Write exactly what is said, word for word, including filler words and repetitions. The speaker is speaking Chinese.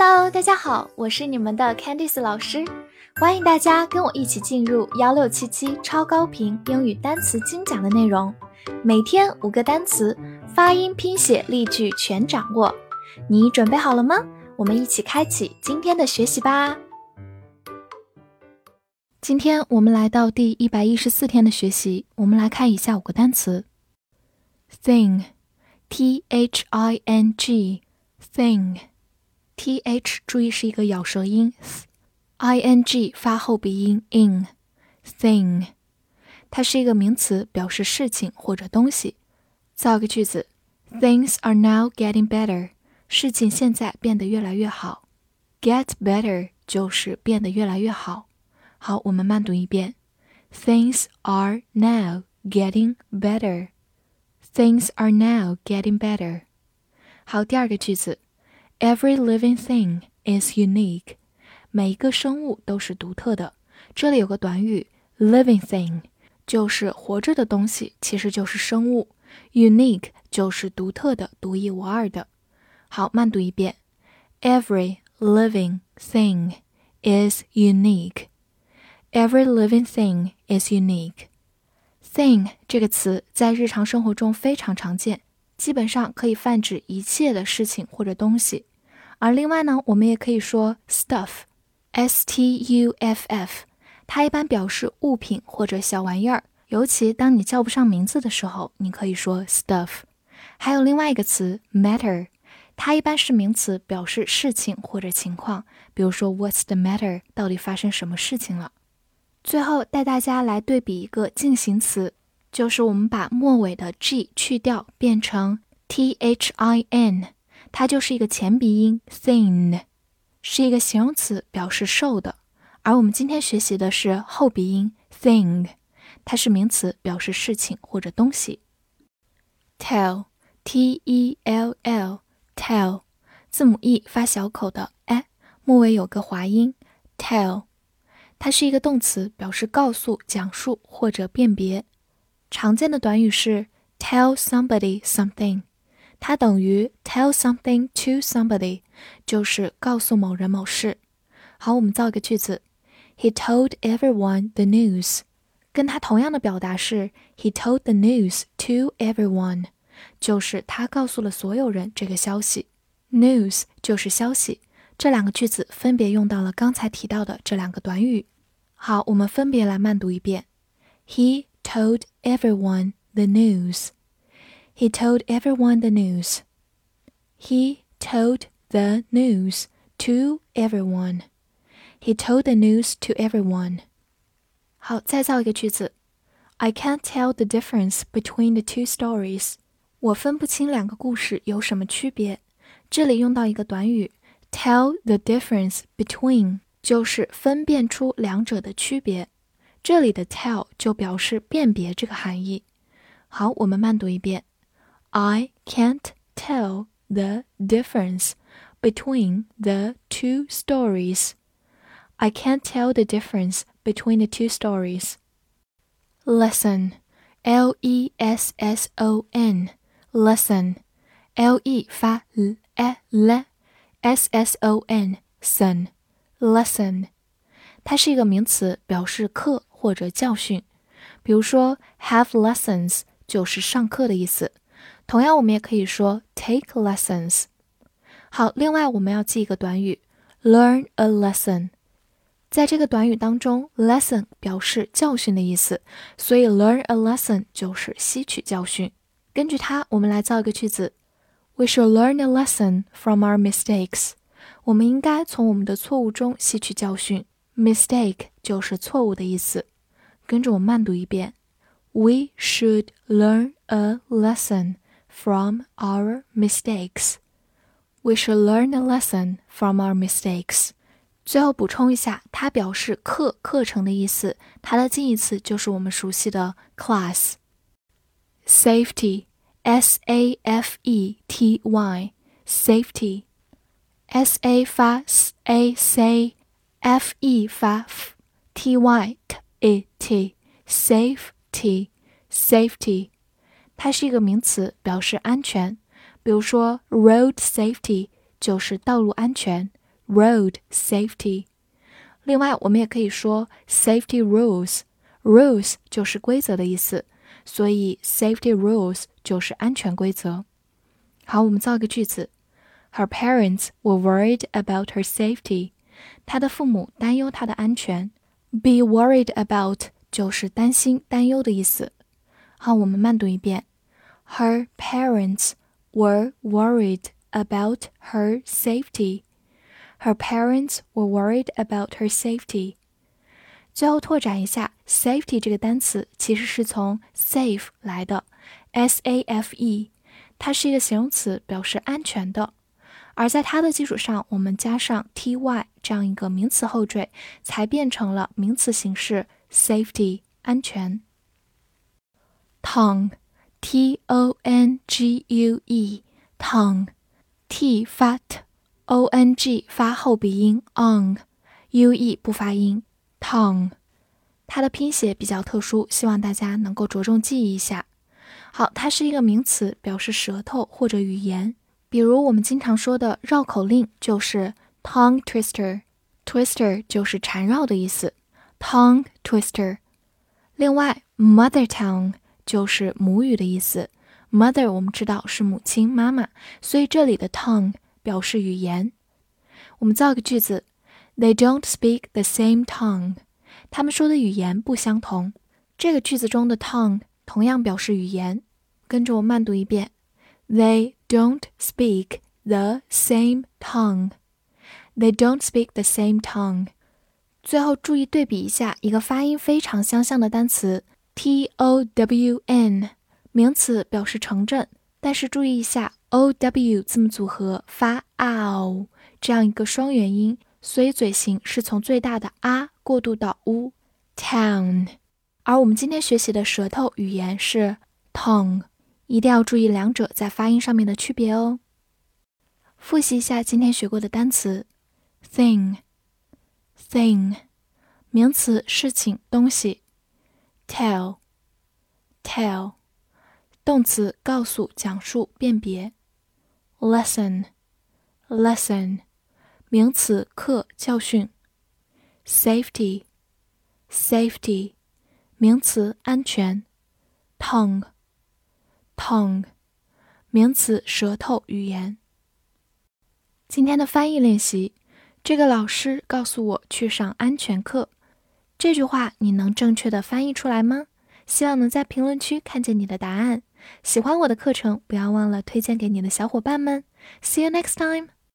Hello， 大家好，我是你们的 Candice 老师，欢迎大家跟我一起进入一六七七超高频英语单词精讲的内容，每天五个单词，发音、拼写、例句全掌握。你准备好了吗？我们一起开启今天的学习吧。今天我们来到第一百一十四天的学习，我们来看以下五个单词。Thing, T H I N G, thing, T H 注意是一个咬舌音 I N G 发后鼻音 in, thing, 它是一个名词，表示事情或者东西。造个句子 Things are now getting better, 事情现在变得越来越好。 Get better 就是变得越来越好。好，我们慢读一遍 Things are now getting better, Things are now getting better. 好，第二个句子 Every living thing is unique. 每一个生物都是独特的。这里有个短语 living thing 就是活着的东西，其实就是生物。 Unique 就是独特的，独一无二的。好，慢读一遍 Every living thing is unique. Every living thing is unique. Thing 这个词在日常生活中非常常见，基本上可以泛指一切的事情或者东西。而另外呢，我们也可以说 stuff, S T U F F, 它一般表示物品或者小玩意儿，尤其当你叫不上名字的时候，你可以说 stuff。 还有另外一个词 matter, 它一般是名词，表示事情或者情况，比如说 What's the matter, 到底发生什么事情了。最后带大家来对比一个进行词，就是我们把末尾的 G 去掉变成 T H I N， 它就是一个前鼻音 thin， 是一个形容词，表示瘦的。而我们今天学习的是后鼻音 thing， 它是名词，表示事情或者东西。 Tell, T E L L, tell, 字母 E 发小口的 e， 末尾有个滑音 tell，它是一个动词，表示告诉、讲述或者辨别。常见的短语是 tell somebody something， 它等于 tell something to somebody， 就是告诉某人某事。好，我们造一个句子 He told everyone the news， 跟它同样的表达是 He told the news to everyone， 就是他告诉了所有人这个消息。 News 就是消息，这两个句子分别用到了刚才提到的这两个短语。好，我们分别来慢读一遍 He told everyone the news. He told everyone the news. He told the news to everyone. He told the news to everyone. 好，再造一个句子 I can't tell the difference between the two stories. 我分不清两个故事有什么区别。这里用到一个短语Tell the difference between 就是分辨出两者的区别，这里的 tell 就表示辨别这个含义。好，我们慢读一遍 I can't tell the difference between the two stories. I can't tell the difference between the two stories. Lesson, L E S S O N, lesson, L E 发 l, e, l, S S O N, son, lesson， 它是一个名词，表示课或者教训。比如说 have lessons 就是上课的意思，同样我们也可以说 take lessons。 好，另外我们要记一个短语 learn a lesson， 在这个短语当中 lesson 表示教训的意思，所以 learn a lesson 就是吸取教训。根据它，我们来造一个句子We should learn a lesson from our mistakes. 我们应该从我们的错误中吸取教训。 Mistake 就是错误的意思。跟着我慢读一遍 We should learn a lesson from our mistakes. We should learn a lesson from our mistakes. 最后补充一下，它表示课、课程的意思，它的近义词就是我们熟悉的 class. Safety, S A F E T Y, safety. S A 发 S A C, F E 发 F, T Y T E T, safety, safety. 它是一个名词，表示安全。比如说 road safety 就是道路安全， road safety。另外，我们也可以说 safety rules，rules 就是规则的意思，所以 safety rules 就是安全规则。好，我们造一个句子 Her parents were worried about her safety。她的父母担忧她的安全。Be worried about 就是担心、担忧的意思。好，我们慢读一遍 Her parents were worried about her safety。Her parents were worried about her safety。 最后拓展一下 safety 这个单词其实是从 safe 来的 S A F E， 它是一个形容词，表示安全的，而在它的基础上我们加上 ty 这样一个名词后缀，才变成了名词形式 safety 安全。 Tongue T O N G U E Tongue T 发 t O N G 发后鼻音 on U E 不发音 tongue， 它的拼写比较特殊，希望大家能够着重记忆一下。好，它是一个名词，表示舌头或者语言，比如我们经常说的绕口令就是 tongue twister， twister 就是缠绕的意思 tongue twister。 另外 mother tongue 就是母语的意思， mother 我们知道是母亲妈妈，所以这里的 tongue表示语言。我们造个句子 They don't speak the same tongue。 他们说的语言不相同。这个句子中的 tongue 同样表示语言，跟着我慢读一遍 They don't speak the same tongue。 They don't speak the same tongue。 最后注意对比一下一个发音非常相像的单词 T O W N， 名词表示城镇，但是注意一下 O W 字母组合发 ow 这样一个双元音，所以嘴型是从最大的啊过渡到 u town。 而我们今天学习的舌头语言是 tongue， 一定要注意两者在发音上面的区别哦。复习一下今天学过的单词 thing thing 名词事情东西 tell tell 动词告诉讲述辨别 lesson lesson 名词课教训 safety safety 名词安全 tongue tongue 名词舌头语言。今天的翻译练习，这个老师告诉我去上安全课，这句话你能正确的翻译出来吗？希望能在评论区看见你的答案。喜欢我的课程，不要忘了推荐给你的小伙伴们。See you next time!